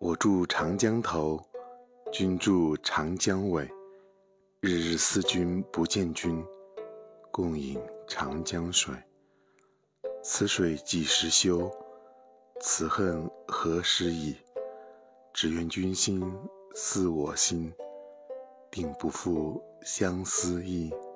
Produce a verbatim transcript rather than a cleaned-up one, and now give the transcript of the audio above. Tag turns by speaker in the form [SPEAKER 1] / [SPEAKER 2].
[SPEAKER 1] 我住长江头，君住长江尾，日日思君不见君，共饮长江水。此水几时休？此恨何时已？只愿君心似我心，定不负相思意。